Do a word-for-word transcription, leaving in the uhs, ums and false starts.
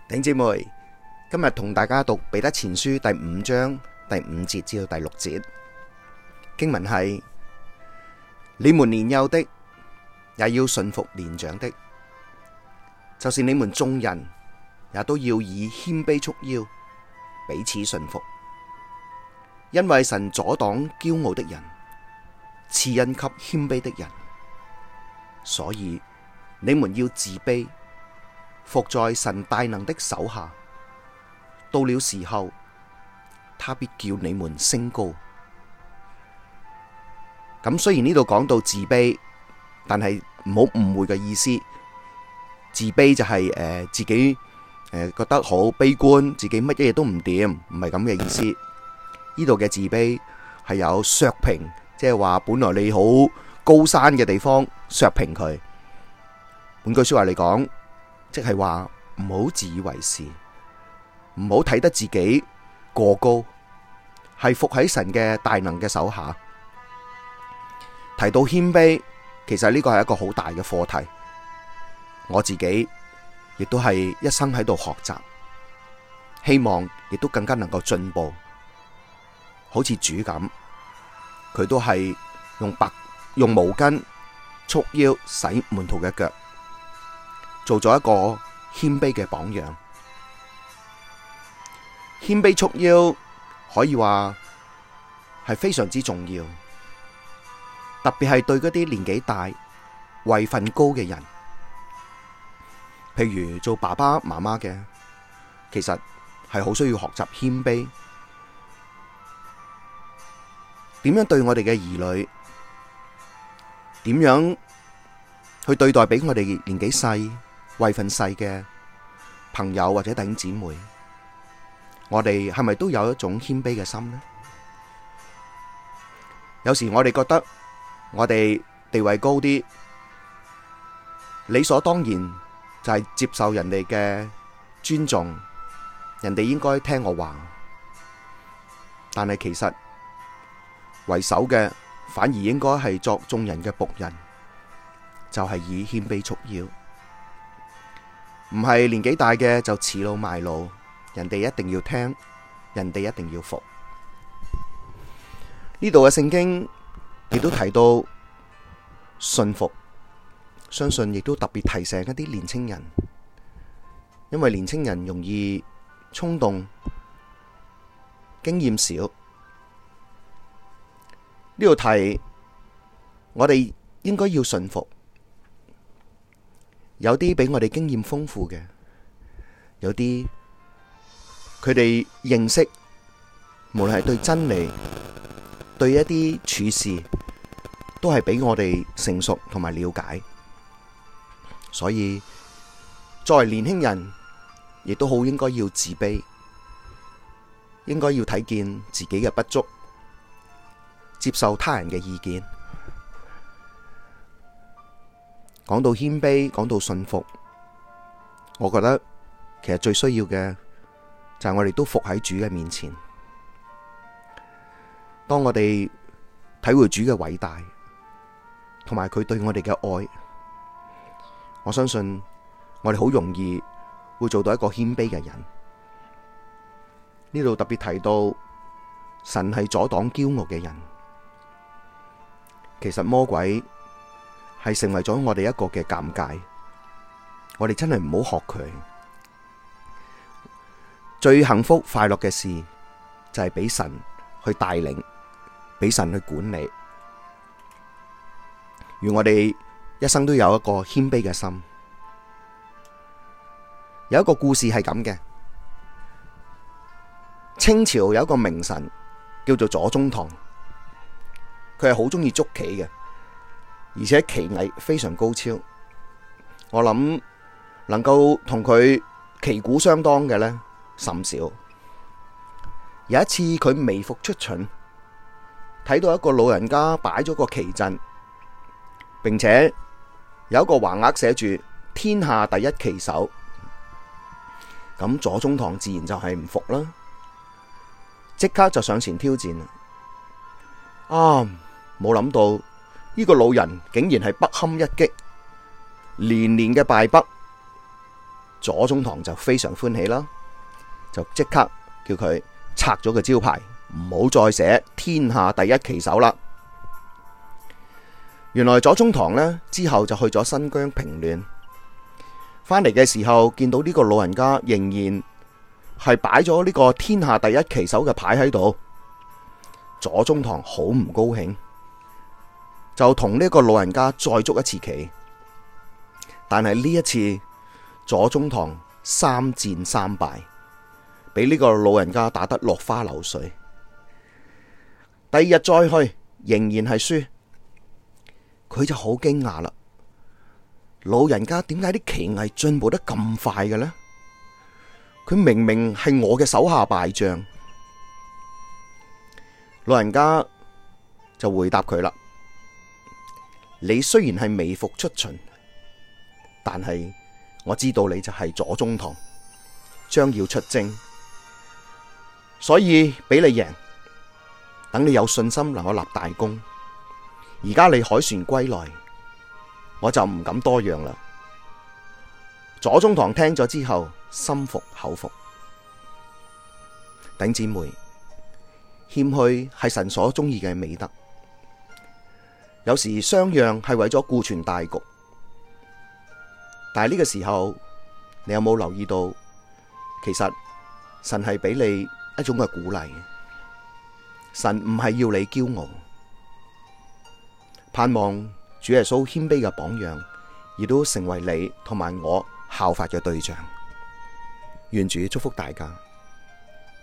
弟兄姊妹，今日同大家讀彼得前書第五章第五節至到第六節，經文係：你們年幼的也要順服年長的，就是你們眾人也都要以謙卑束腰，彼此順服。因為神阻擋驕傲的人，賜恩給謙卑的人，所以你們要自卑，服在神大能的手下。到了時候，他必叫你們升高。咁雖然呢度講到自卑，但係唔好誤會嘅意思。自卑就係、是、誒、呃、自己誒、呃、覺得好悲觀，自己乜嘢都唔掂，唔係咁嘅意思。呢度嘅自卑係有削平，即係話本來你好高山嘅地方削平佢。換句說話嚟講，即係話唔好自以為是，唔好睇得自己過高，係服喺神嘅大能嘅手下。提到謙卑，其實呢個係一個好大嘅課題。我自己亦都係一生喺度學習，希望亦都更加能夠進步。好似主咁，佢都係用白用毛巾束腰洗門徒嘅腳，做咗一個謙卑嘅榜樣。謙卑束腰可以話係非常之重要，特別係對嗰啲年紀大、位份高嘅人，譬如做爸爸媽媽嘅，其實係好需要學習謙卑。點樣對我哋嘅兒女？點樣去對待比我哋年紀細、位份細嘅朋友或者弟兄姊妹？我哋係咪都有一種謙卑嘅心呢？有時我哋覺得我哋地位高啲，理所當然就係接受人哋嘅尊重，人哋應該聽我話。但係其實為首嘅反而應該係作眾人嘅僕人，就係以謙卑束腰，唔係年紀大嘅就恃老賣老，人哋一定要聽，人哋一定要服。呢度嘅聖經亦都提到順服，相信亦都特別提醒一啲年青人，因為年青人容易衝動，經驗少。呢度提我哋應該要順服，有啲比我哋經驗豐富嘅，有啲佢哋認識，無論係對真理，對一啲處事，都係比我哋成熟同埋了解。所以作為年輕人，亦都好應該要自卑，應該要睇見自己嘅不足，接受他人嘅意見。講到謙卑，講到順服，我覺得其實最需要嘅就係我哋都服喺主嘅面前。當我哋體會主嘅偉大，同埋佢對我哋嘅愛，我相信我哋好容易會做到一個謙卑嘅人。呢度特別提到神係阻擋驕傲嘅人。其實魔鬼係成為咗我哋一個嘅鑑戒，我哋真係唔好學佢。最幸福快樂嘅事就係俾神去帶領，俾神去管理。願我哋一生都有一個謙卑嘅心。有一個故事係咁嘅，清朝有一個名臣叫做左宗棠。佢係好鍾意捉棋嘅，而且棋藝非常高超。我諗能夠同佢旗鼓相當嘅呢，甚少。有一次佢微服出巡，睇到一個老人家擺咗個棋陣，並且有一個橫額寫住天下第一棋手。咁左宗棠自然就係唔服啦，即刻就上前挑戰。啊！冇諗到呢個老人竟然係不堪一擊，連連嘅敗北， 左宗棠就非常歡喜啦，就即刻叫佢拆咗個招牌，唔好再寫天下第一棋手啦。原來左宗棠呢之後就去咗新疆平亂，返嚟嘅時候見到呢個老人家仍然係擺咗呢個天下第一棋手嘅牌喺度，左宗棠好唔高興，就同呢個老人家再捉一次棋。但係呢一次左宗棠三戰三敗，俾呢個老人家打得落花流水。第二日再去仍然係輸，佢就好驚訝啦。老人家點解啲棋藝進步得咁快嘅呢？佢明明係我嘅手下敗將。老人家就回答佢啦：你雖然係微服出巡，但係我知道你就係左宗棠，將要出征，所以俾你贏，等你有信心能夠立大功。而家你凱旋歸來，我就唔敢多讓啦。左宗棠聽咗之後，心服口服。弟兄姊妹，謙虛係神所中意嘅美德。有時相讓係為咗顧全大局。但係呢個時候，你有冇留意到，其實神係俾你一種嘅鼓勵。神唔係要你驕傲，盼望主耶穌謙卑嘅榜樣，亦都成為你同埋我效法嘅對象。願主祝福大家。